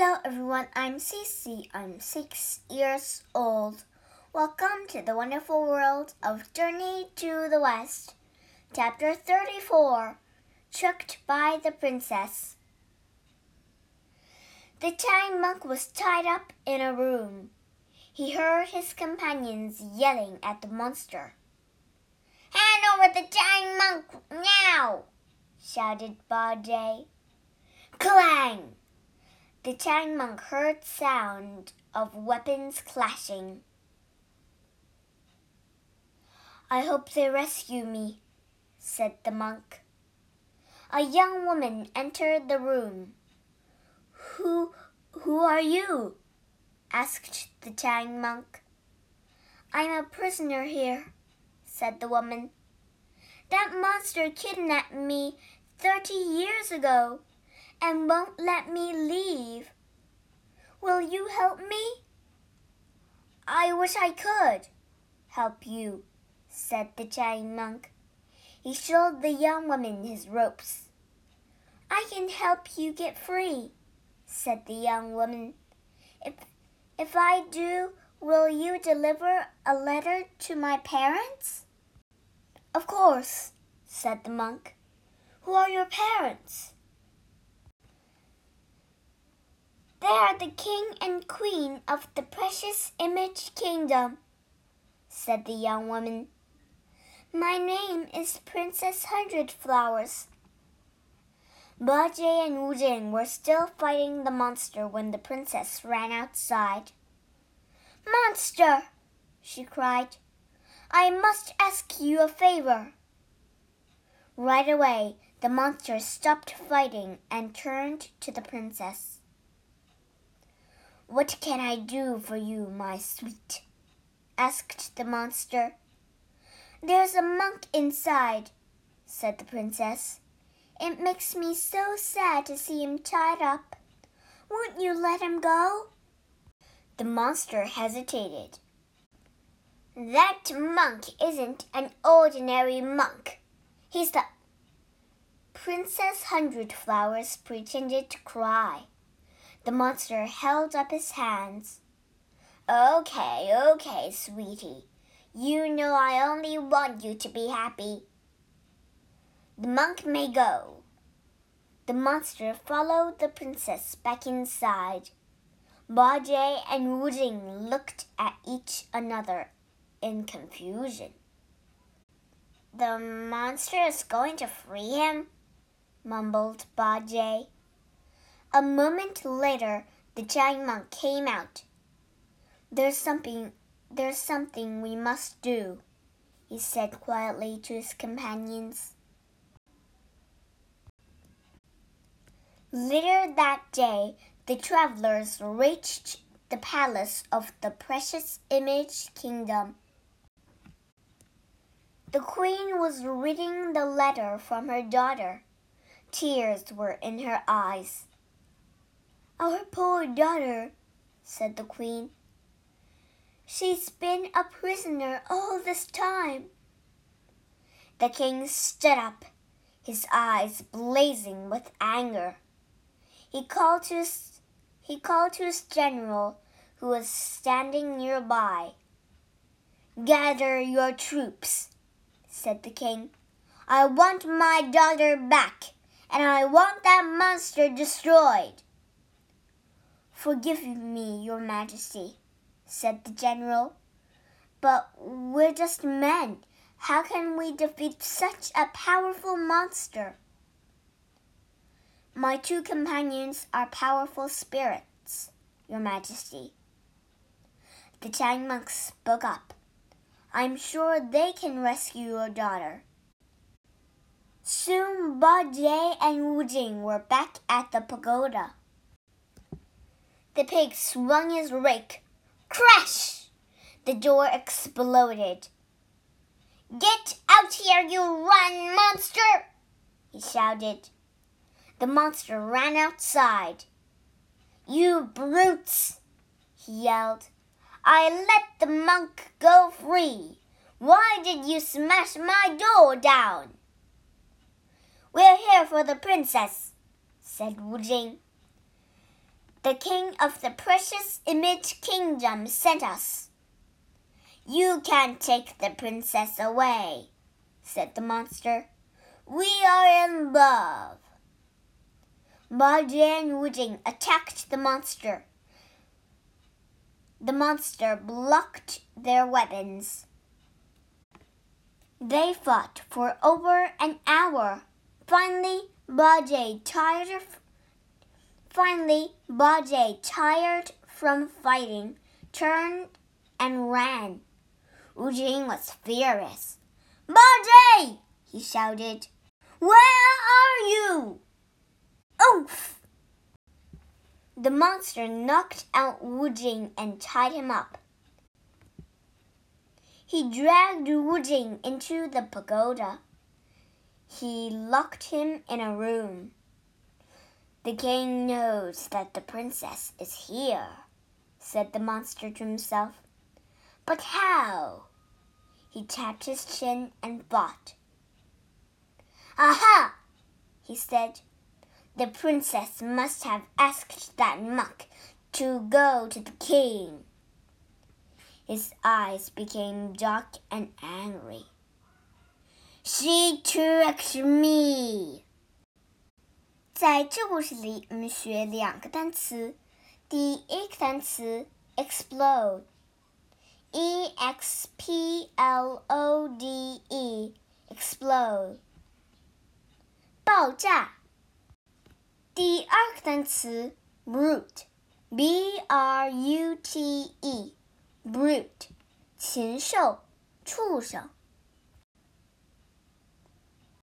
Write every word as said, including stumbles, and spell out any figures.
Hello everyone, I'm Cece. I'm six years old. Welcome to the wonderful world of Journey to the West. Chapter thirty-four, Tricked by the Princess. The tiny monk was tied up in a room. He heard his companions yelling at the monster. "Hand over the tiny monk now!" shouted Bajie. Clang! The tiny monk heard sound of weapons clashing. "I hope they rescue me," said the monk. A young woman entered the room. Who, who are you?" asked the tiny monk. "I'm a prisoner here," said the woman. "That monster kidnapped me thirty years ago and won't let me leave. Will you help me?" "I wish I could help you," said the giant monk. He showed the young woman his ropes. "I can help you get free," said the young woman. If, if I do, will you deliver a letter to my parents?" "Of course," said the monk. "Who are your parents?" "They are the king and queen of the precious image kingdom," said the young woman. "My name is Princess Hundred Flowers." Bajie and Wujing were still fighting the monster when the princess ran outside. "Monster!" she cried. "I must ask you a favor." Right away, the monster stopped fighting and turned to the princess. "What can I do for you, my sweet?" asked the monster. "There's a monk inside," said the princess. "It makes me so sad to see him tied up. Won't you let him go?" The monster hesitated. "That monk isn't an ordinary monk. He's the..." Princess Hundred Flowers pretended to cry. The monster held up his hands. "Okay, okay, sweetie. You know I only want you to be happy. The monk may go." The monster followed the princess back inside. Bajie and Wujing looked at each other in confusion. "The monster is going to free him?" mumbled Bajie. A moment later, the giant monk came out. There's something, there's something we must do," he said quietly to his companions. Later that day, the travelers reached the palace of the Precious Image Kingdom. The queen was reading the letter from her daughter. Tears were in her eyes. "Our poor daughter," said the queen. "She's been a prisoner all this time." The king stood up, his eyes blazing with anger. He called to his, he called to his general, who was standing nearby. "Gather your troops," said the king. "I want my daughter back, and I want that monster destroyed." "Forgive me, your majesty," said the general. "But we're just men. How can we defeat such a powerful monster?" "My two companions are powerful spirits, your majesty." The tiny monk spoke up. "I'm sure they can rescue your daughter." Soon Bajie and Wujing were back at the pagoda. The pig swung his rake. Crash! The door exploded. "Get out here, you rotten monster!" he shouted. The monster ran outside. "You brutes!" he yelled. "I let the monk go free. Why did you smash my door down?" "We're here for the princess," said Wujing. The king of the precious image kingdom sent us. You can't take the princess away, said the monster. We are in love. Bajie and Wu Jing attacked the monster. The monster blocked their weapons. They fought for over an hour. Finally, Bajie tired of Finally, Bajie, tired from fighting, turned and ran. Wu Jing was furious. Bajie! He shouted. Where are you? Oof! The monster knocked out Wu Jing and tied him up. He dragged Wu Jing into the pagoda. He locked him in a room. The king knows that the princess is here, said the monster to himself. But how? He tapped his chin and thought. Aha! He said. The princess must have asked that monk to go to the king. His eyes became dark and angry. She tricked me. 在这故事里，我们学两个单词。第一个单词 explode， E X P L O D E， explode， 爆炸。第二个单词 brute， B R U T E， brute， 禽兽、畜生。